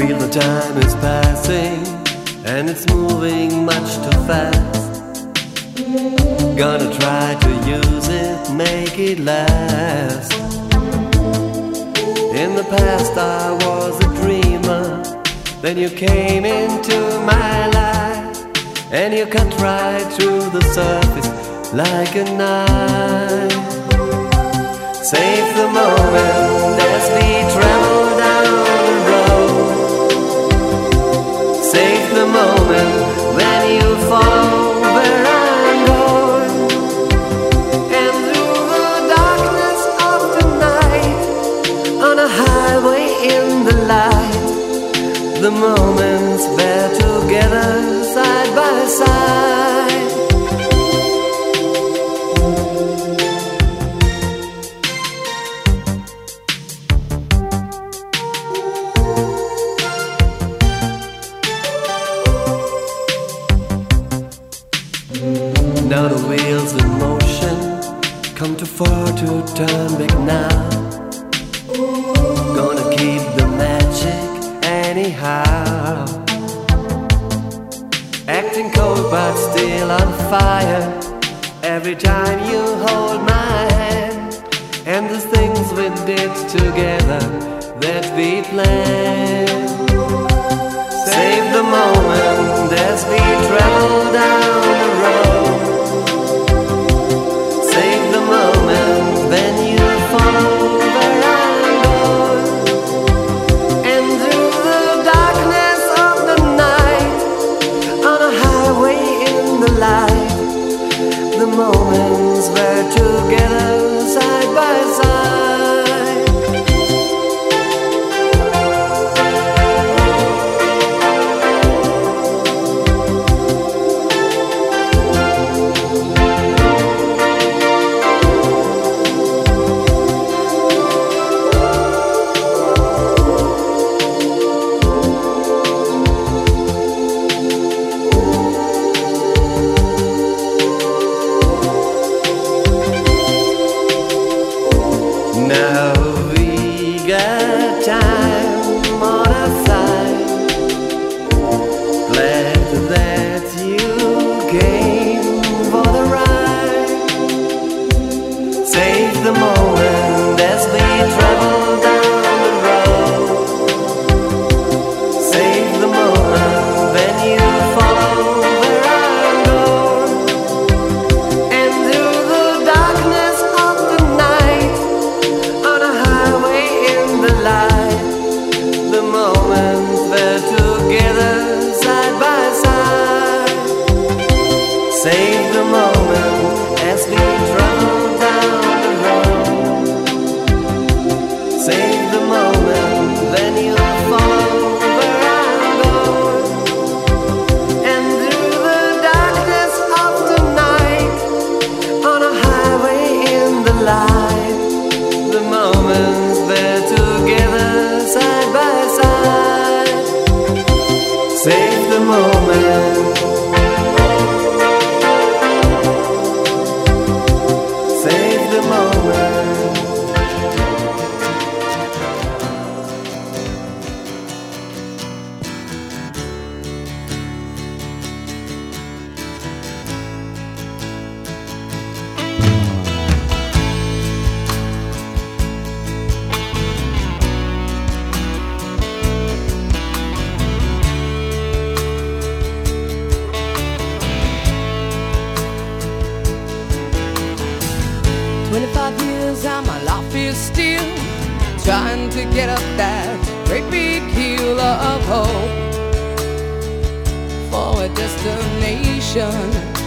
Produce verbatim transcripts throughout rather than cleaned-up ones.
feel the time is passing and it's moving much too fast. Gonna try to use it, make it last. In the past I was a dreamer, then you came into my life, and you cut right through the surface like a knife. Save the moment as we travel down the road. Save the moment when you follow where I'm going. And through the darkness of the night, on a highway in the light, the moments we're together side by side. Now the wheels in motion come too far to turn back now. Gonna keep the magic anyhow. Acting cold but still on fire every time you hold my hand. And the things we did together that we planned. Save the moment as we travel down the road. Save the moment when you follow where I'm going. And through the darkness of the night, on a highway in the light, the moments we're together side by side. Now we got time on our side. Glad that you came for the ride. Save the moment as we travel down the road. Save the moment when you follow where I'm going. And through the darkness of the night, on a highway in the light, the moments we're together side by side. Save the moment as we travel down the road. Save the moment when you follow where I'm going. And through the darkness of the night, on a highway in the light, the moments we're together side by side. Save the moment. Save the moment. Twenty-five years and my life is still trying to get up that great big hill of hope for a destination.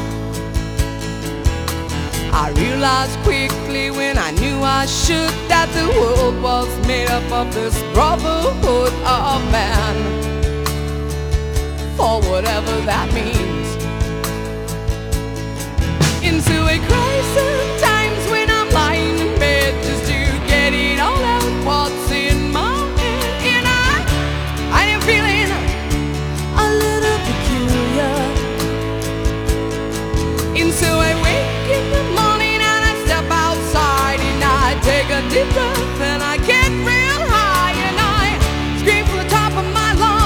I realized quickly when I knew I should that the world was made up of this brotherhood of man, for whatever that means. Into a crisis times when I'm lying in bed just to get it all out what's in my head. And I, I am feeling a little peculiar. And so I wake in the morning and I step outside and I take a deep breath and I get real high and I scream from the top of my lungs.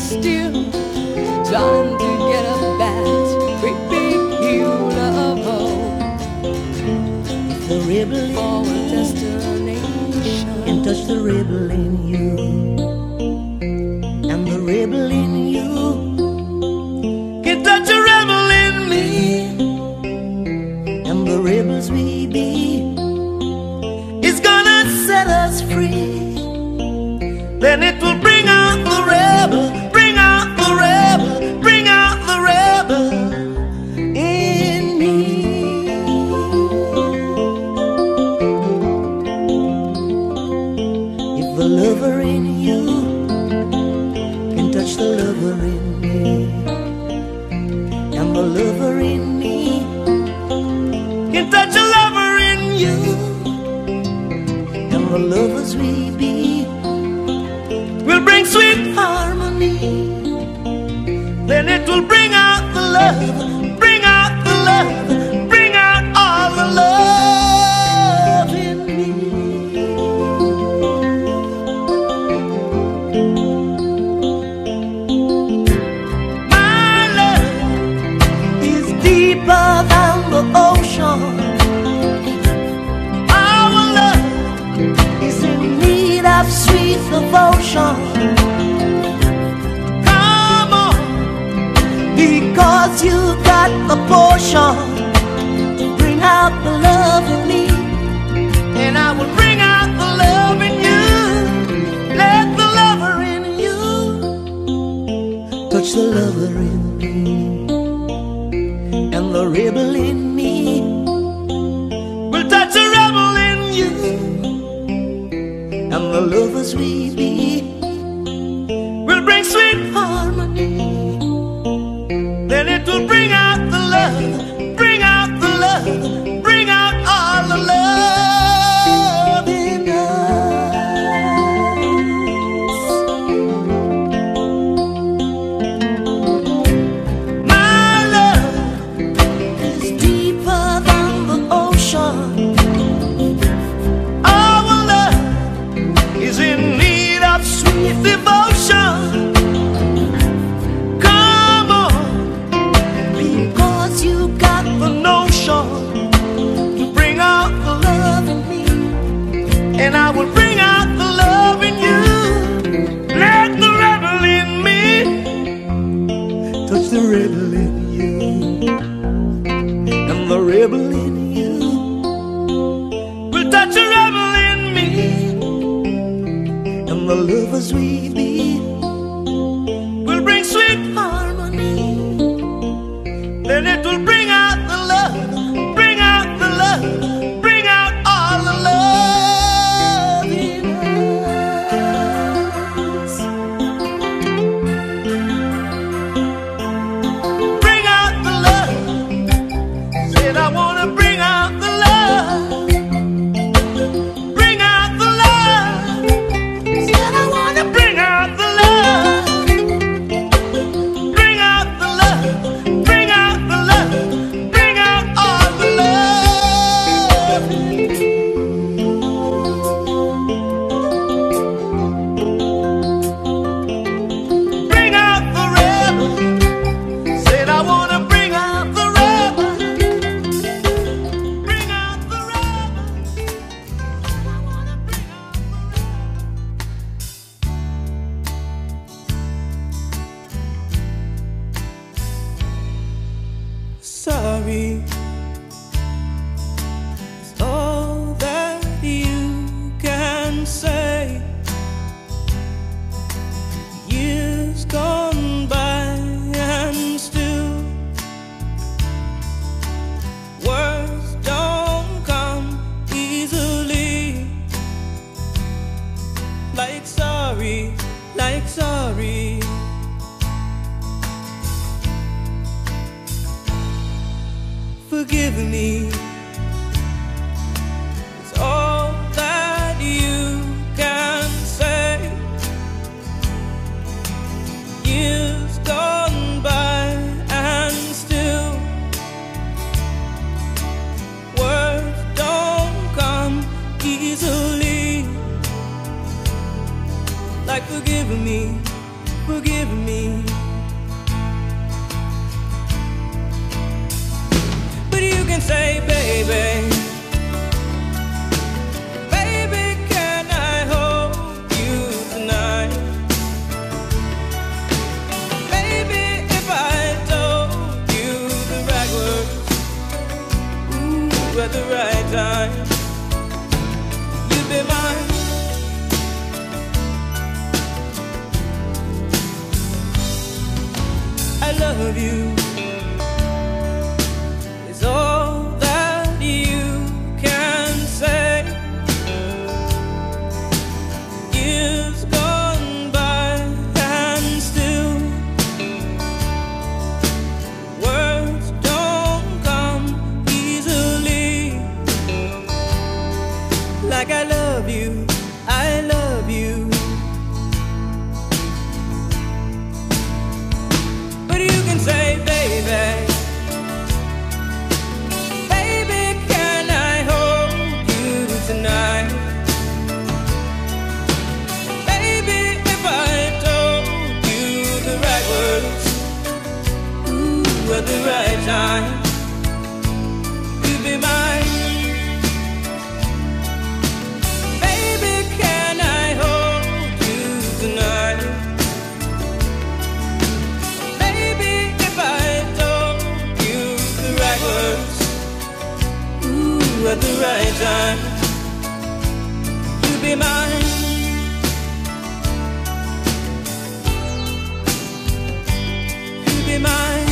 still trying to get up that great big hill of hope The rebel for a in me destination. can touch the rebel in you, and the rebel in you can touch the rebel in me, and the rebels we be is gonna set us free. Then it will bring out the rebel, bring out the rebel, bring out the rebel in me. If the lover in you can touch the lover in me, and the lover in me can touch the lover in you, and the lovers we be will bring sweet harmony. Then it will bring out the love, bring out the love, bring out all the love in me. My love is deeper than the ocean. Our love is in need of sweet devotion. Come on, because you got the portion to bring out the love in me, and I will bring out the love in you. Let the lover in you touch the lover in me, and the rebel in me will touch the rebel in you, and the lovers we be will bring sweet harmony. Then it will bring out the love, bring out the love, bring out all the love in us. My love is deeper than the ocean. Our love is in need of sweet devotion. Come on, because you got the notion to bring out the love in me, and I will bring out the love in you. Let the rebel in me touch the rebel in you, and the rebel in you will touch the rebel in me, and the lovers we be will bring sweet harmony. Then it will bring out the love, bring out the love, bring out all the love in us. Bring out the love. Said I wanna bring out the love. Bring out the love. Said I wanna bring out the love. Bring out the love. Bring out the love. Bring out all the love. Bring out the rebel. Said I wanna bring out the rebel. Bring out the rebel. Said I wanna bring out the rebel. Sorry is all that you can say. Years gone by and still words don't come easily. Like sorry, like sorry. Forgive me is all that you can say. Years gone by and still words don't come easily. Like forgive me, forgive me. But you can say, baby, baby, can I hold you tonight? Maybe if I told you the right words, ooh, at the right time, you'd be mine. I love you is all that you can say. Years gone by and still words don't come easily. Like I love you, I love you. But you can say, baby, baby, can I hold you tonight? Baby, if I told you the right words, ooh, at the right time, you'd be mine. Baby, can I hold you tonight? At the right time, you'll be mine. You'll be mine.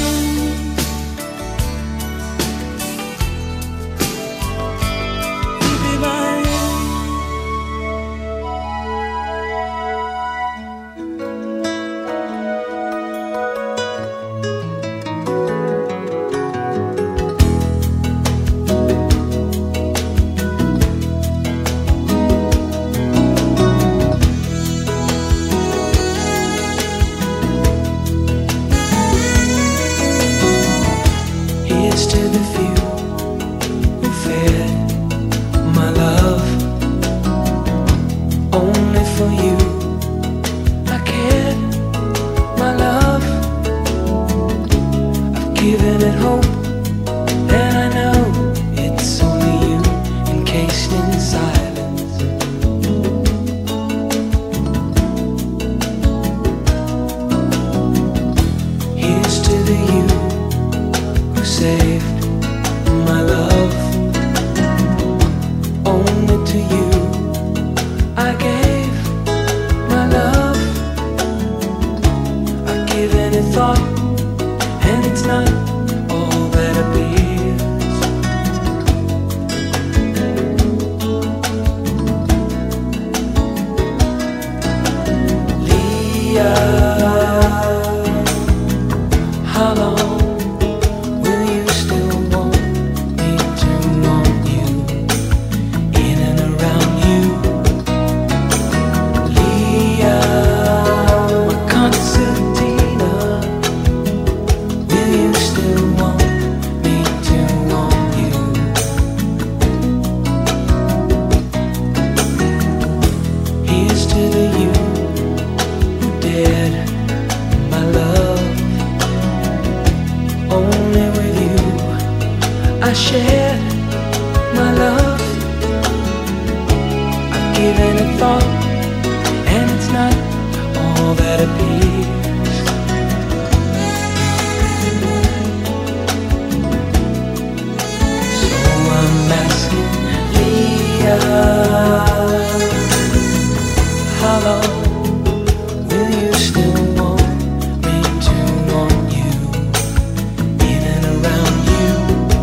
You'll be mine. Here's to the few who fed my love. Only for you I cared, my love. I've given it hope, and I know it's only you, encased in silence. Here's to the you who saved my love. Only to you I gave my love. I've given it thought, and it's not all that appears. Leah, how long will you still want me to want you, in and around you? Leah, my concertina, will you still want me to want you? Here's to the you who dared my love. Only with you I shared my love. I've given it thought, and it's not all that appears. So I'm asking Leah, how long will you still want me to want you, in and around you?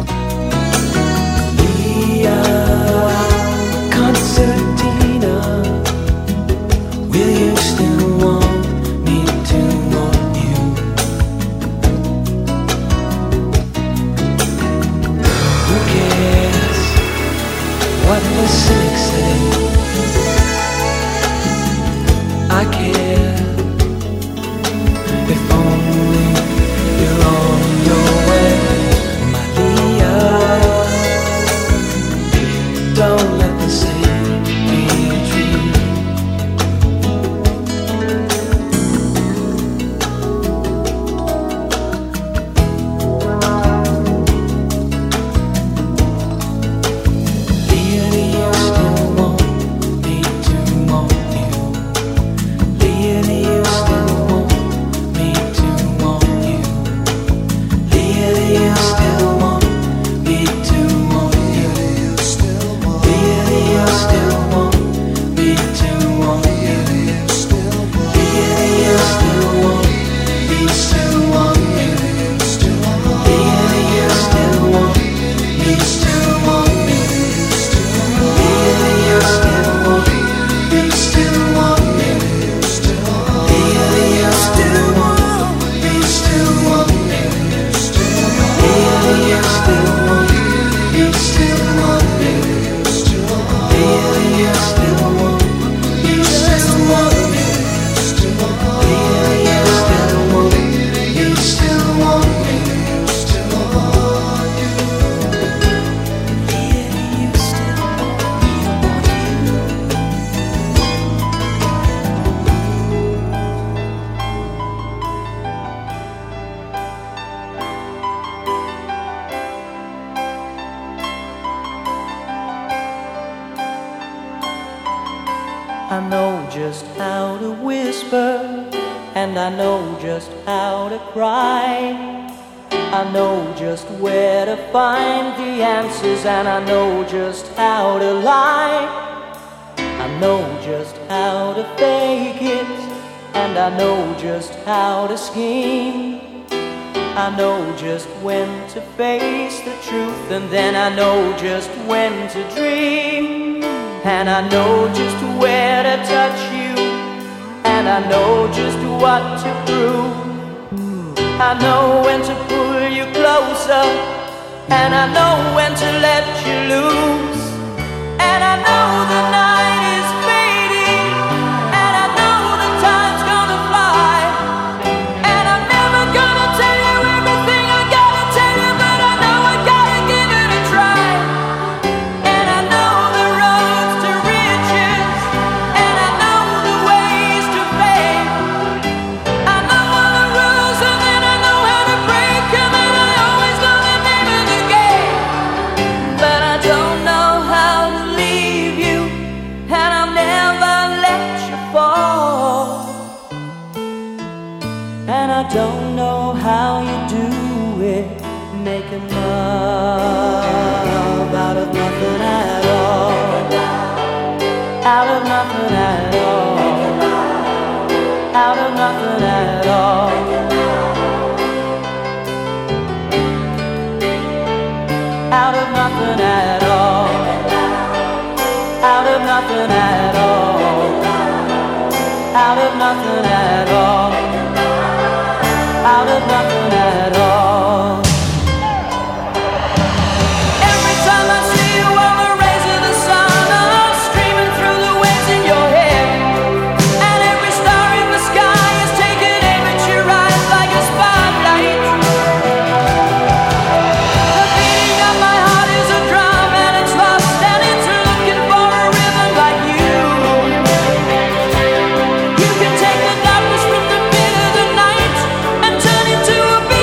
Leah, concertina, will you still want me to want you? Who cares what the cynics say? I care, if only you're on your way, my Leah. Don't let the same be true. I know just how to whisper, and I know just how to cry. I know just where to find the answers, and I know just how to lie. I know just how to fake it, and I know just how to scheme. I know just when to face the truth, and then I know just when to dream. And I know just where to touch you, and I know just what to prove. I know when to pull you closer, and I know when to let you loose. And I know the night is fading, and I know the time's gonna fly. And I'm never gonna tell you everything I gotta tell you, but I know I gotta give it a try. And I know the roads to riches, and I know the ways to fame. I know all the rules, and then I know how to break them, and I always know the name of the game. But I don't know how to leave you, and I'll never let you fall. And I don't know how you do it, making love out of nothing at all. Out of nothing at all. Out of nothing at all. Out of nothing at all. Out of nothing at all. Out of nothing at all. Out of nothing at all. Every time I see you on the rays of the sun, I'm streaming through the waves in your hair. And every star in the sky is taking aim at your eyes like a spotlight. The beating of my heart is a drum, and it's lost, and it's looking for a rhythm like you. You can take the darkness from the pit of the night and turn it to a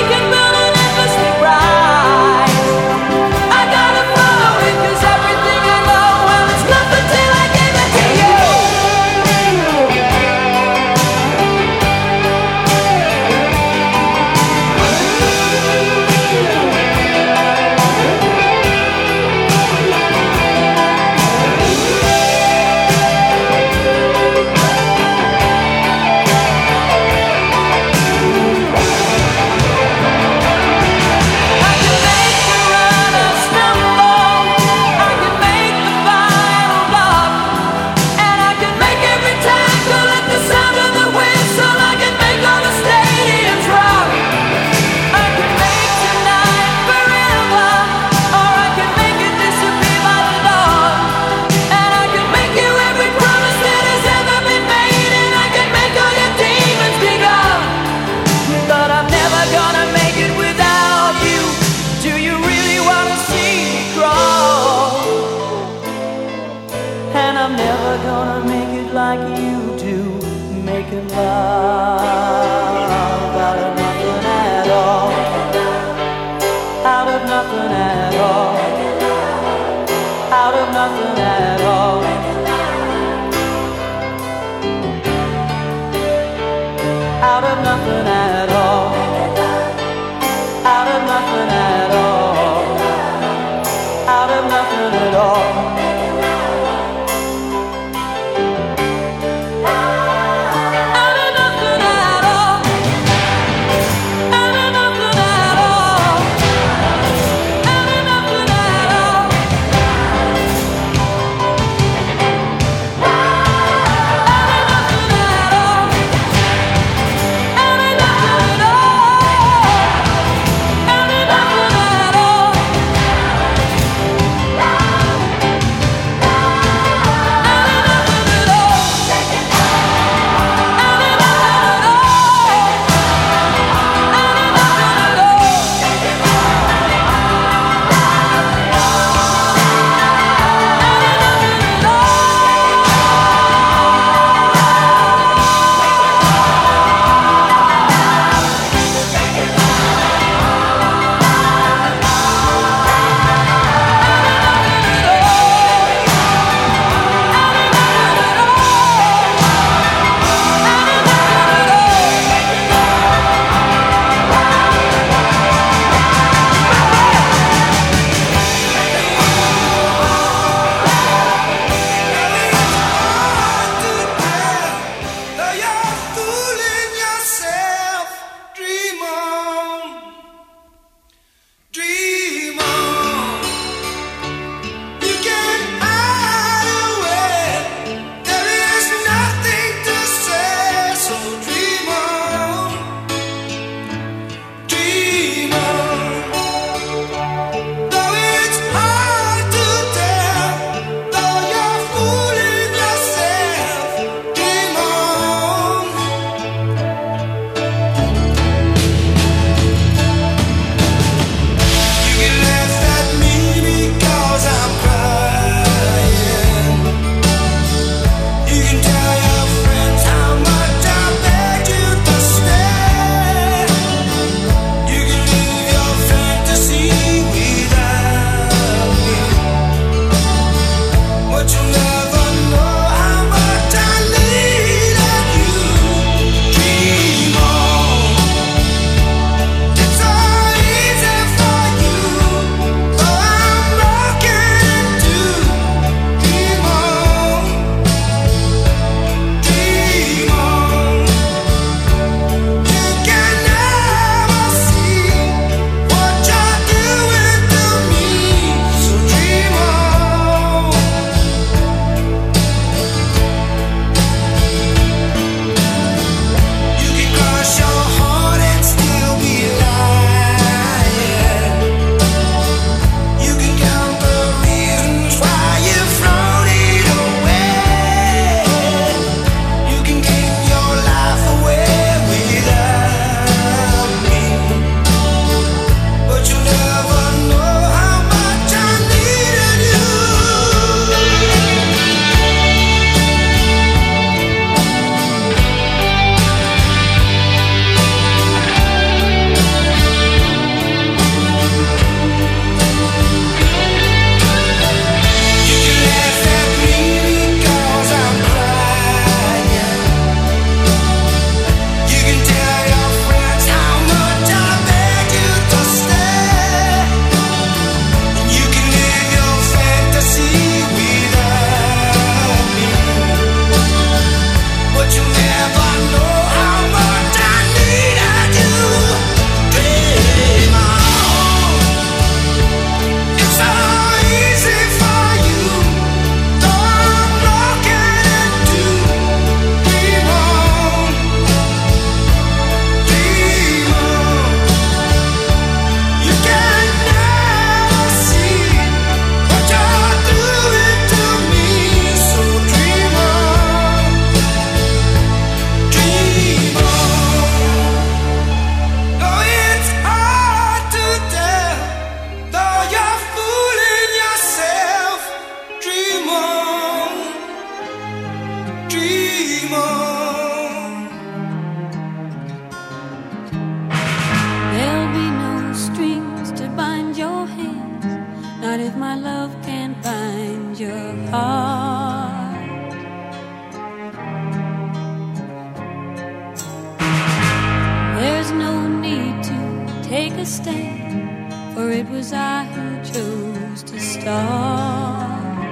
take a stand, for it was I who chose to start.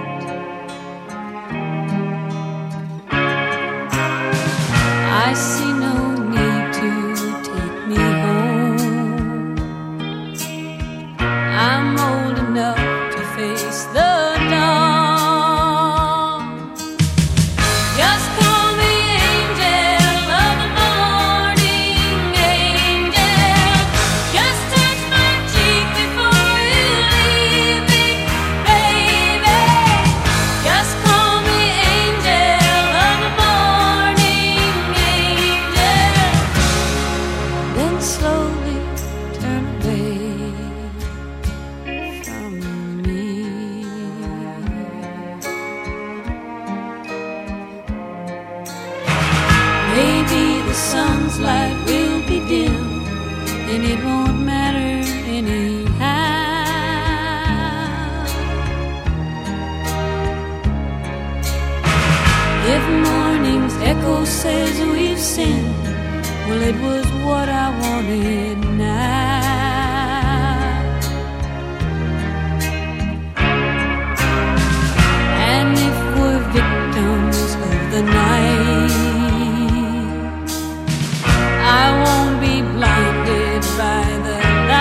I see no need to take me home. I'm old enough to face the dawn. Just call me angel of the morning, angel. Just touch my cheek before you leave me, baby. Just call me angel of the morning, angel. Then slowly turn away from me. Maybe the sun's light will be dim, and it won't matter anyhow. If morning's echo says we've sinned, well, it was what I wanted now. And if we're victims of the night, I won't be blinded by the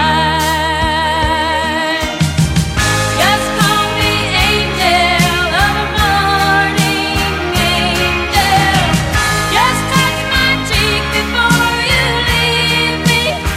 light. Just call me angel of the morning, angel. Just touch my cheek before you leave me,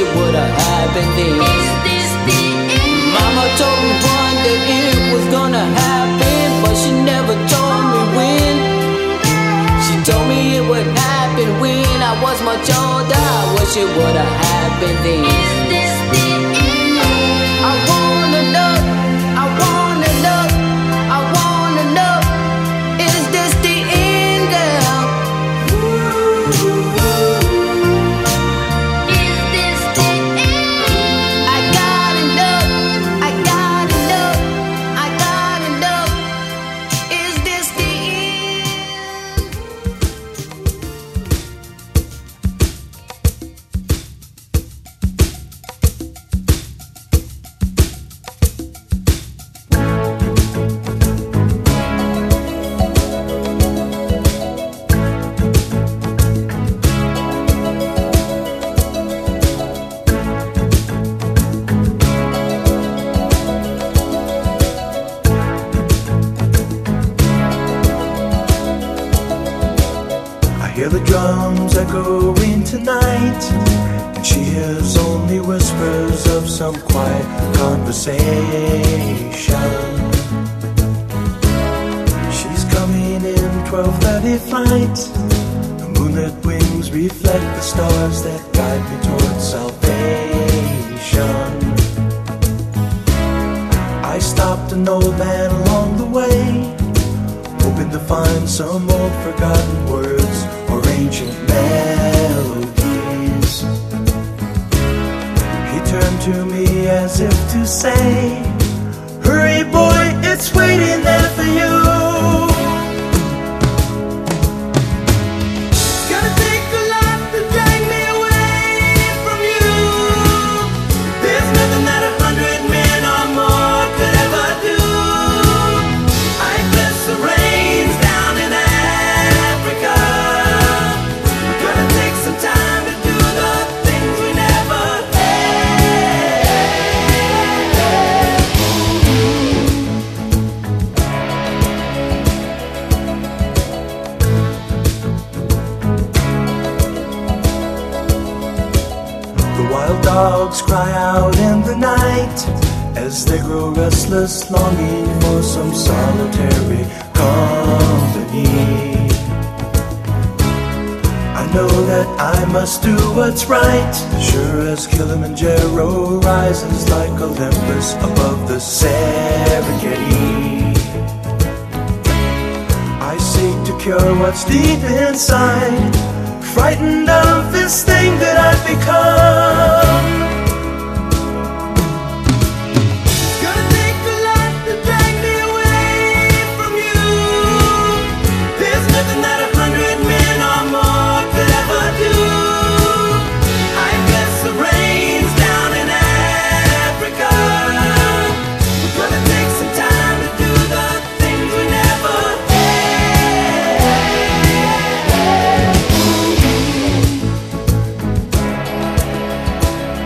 it would have happened then. Is this the end? Mama told me one that it was gonna happen, but she never told me when. She told me it would happen when I was much older. I wish it would have happened then. Is this the end? I wanna know, I wanna know, I wanna know. Is this the end, girl? Is this the end? I gotta know, I gotta know, I gotta know. Is this the I hear the drums echoing tonight, and she hears only whispers of some quiet conversation. She's coming in twelve thirty flight. The moonlit wings reflect the stars that guide me towards salvation. I stopped an old man along the way, hoping to find some old forgotten words or ancient melodies. He turned to me as if to say, hurry boy, it's waiting there for you. It's gonna take a lot to drag me away from you. There's nothing that a hundred men or more could ever do. I bless the rains down in Africa. We're gonna take some time to do the things we never had. The wild dogs cry out in the night as they grow restless, longing for some solitary company. I know that I must do what's right, sure as Kilimanjaro rises like Olympus above the Serengeti. I seek to cure what's deep inside, frightened of this thing that I've become. It's gonna take a lot to drag me away from you. There's nothing that a hundred men or more could ever do. I bless the rains down in Africa. We're gonna take some time to do the things we never had.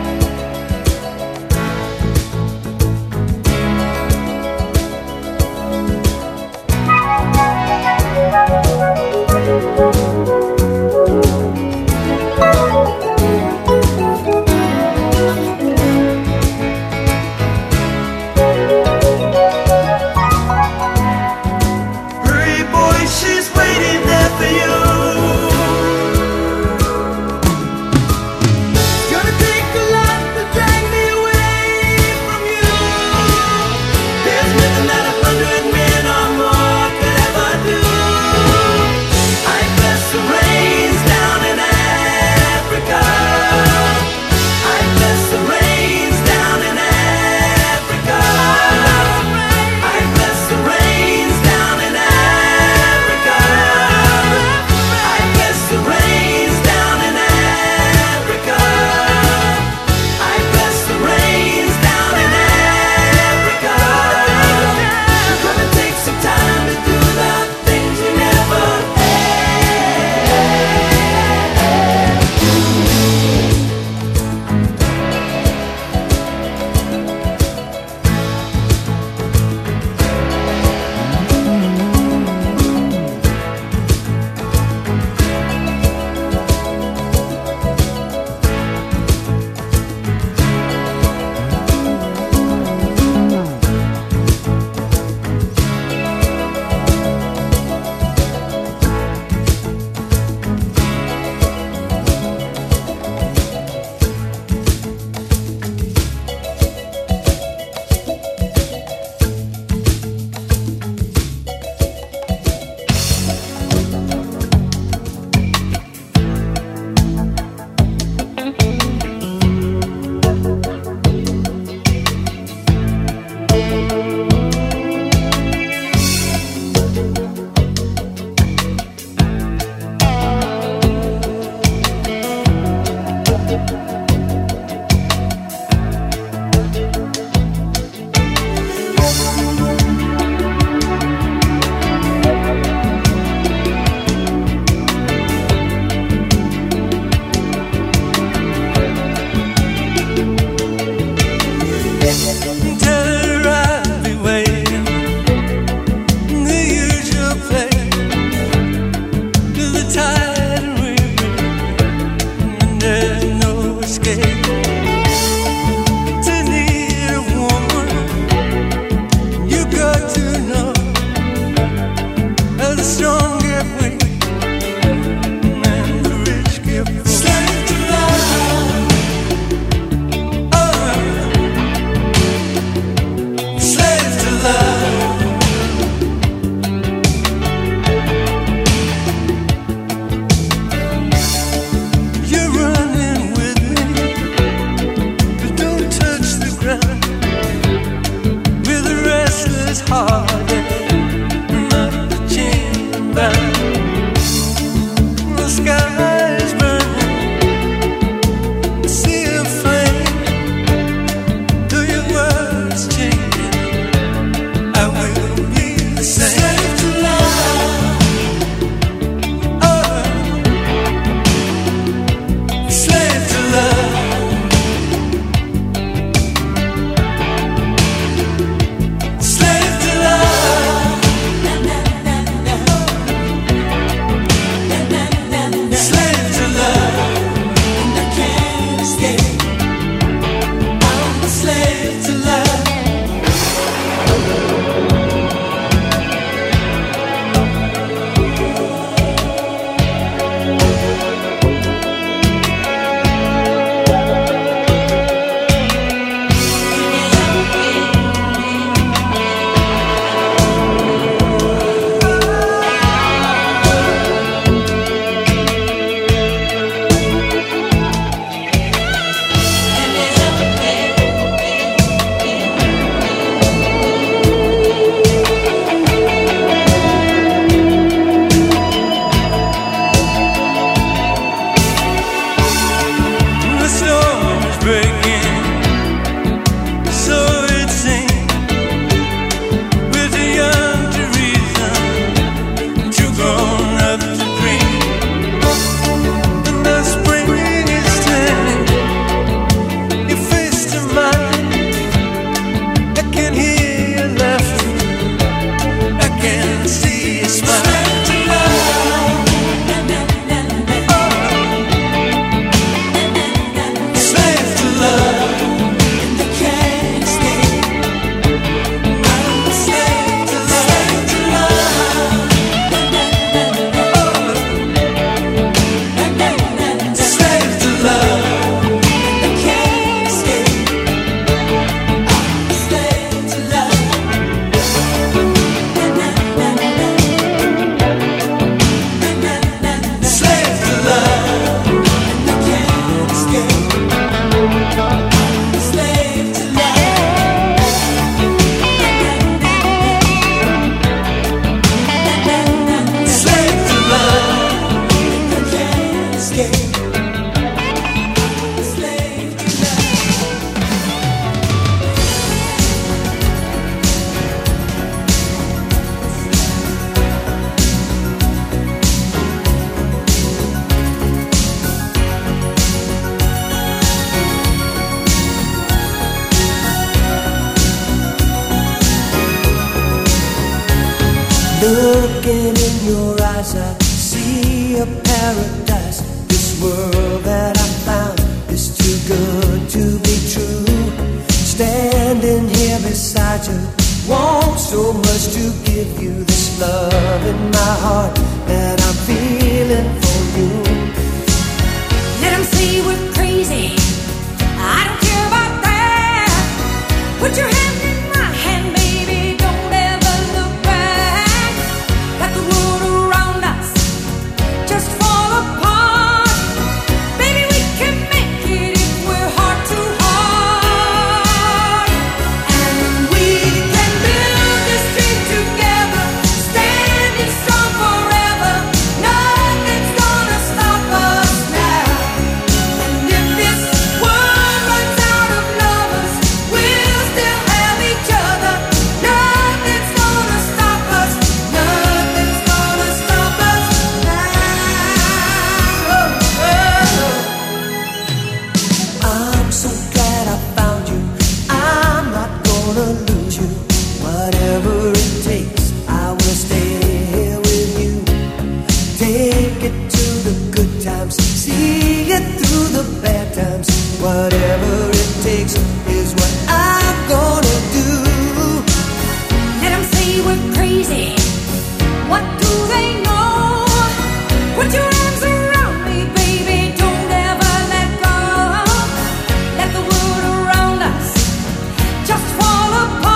Looking in your eyes, I see a paradise. This world that I found is too good to be true. Standing here beside you, want so much to give you this love in my heart that I'm feeling for you. Let 'em say we're crazy, I don't care about that. Put your hand in my hand, baby, don't ever look back. Let the world around us just fall apart. Baby, we can make it if we're heart to heart. And we can build this dream together, standing strong forever. Nothing's gonna stop us now. And if this world runs out of lovers, we'll still have each other. Nothing's gonna stop us. Nothing's gonna stop us now. Oh, oh. I'm so glad I found you. I'm not gonna lose you. Whatever it takes, I will stay here with you. Take it to the good times, see it through the bad times. Whatever it takes is what I'm gonna do. Let 'em say we're crazy. What do they know? Put your arms around me, baby. Don't ever let go. Let the world around us just fall apart.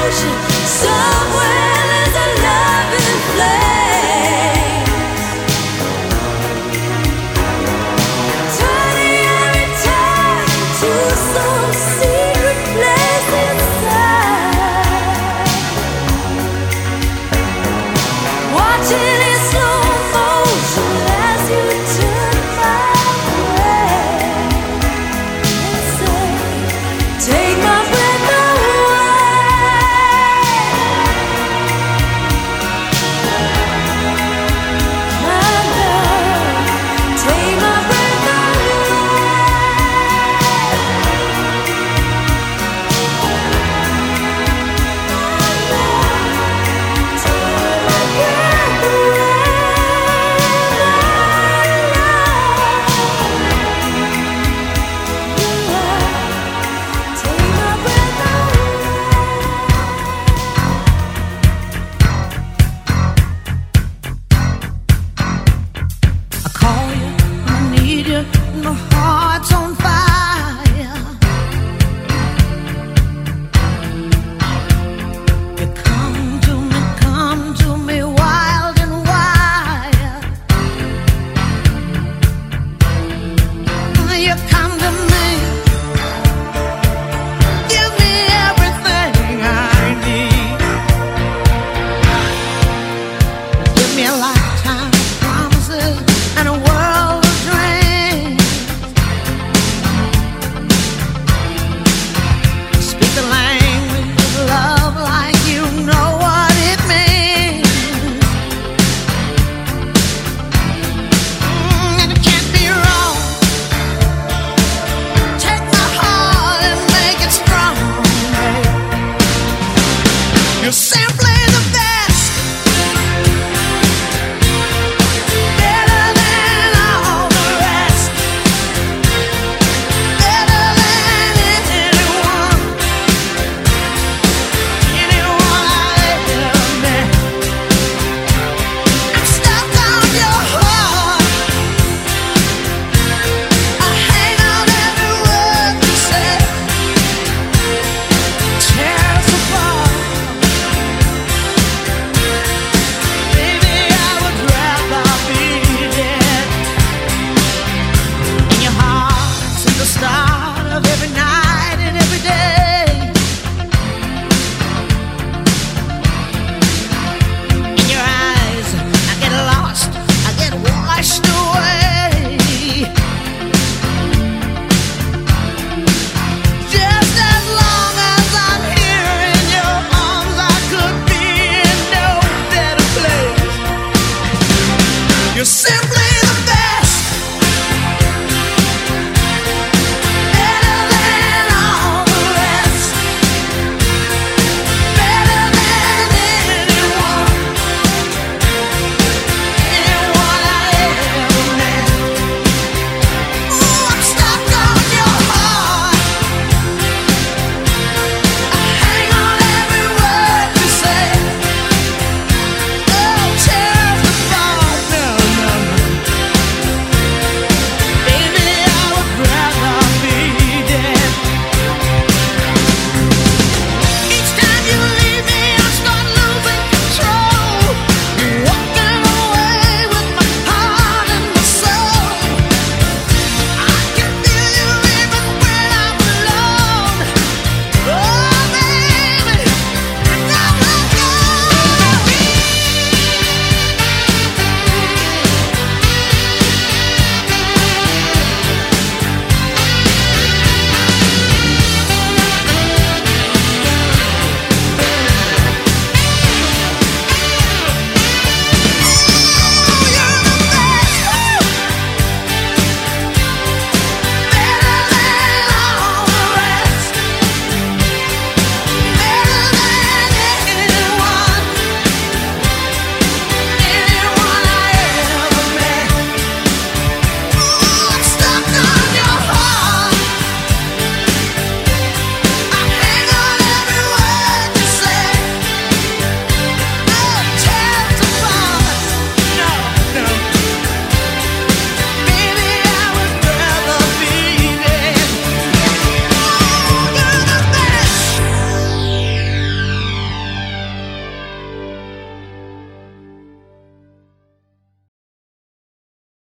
ocean.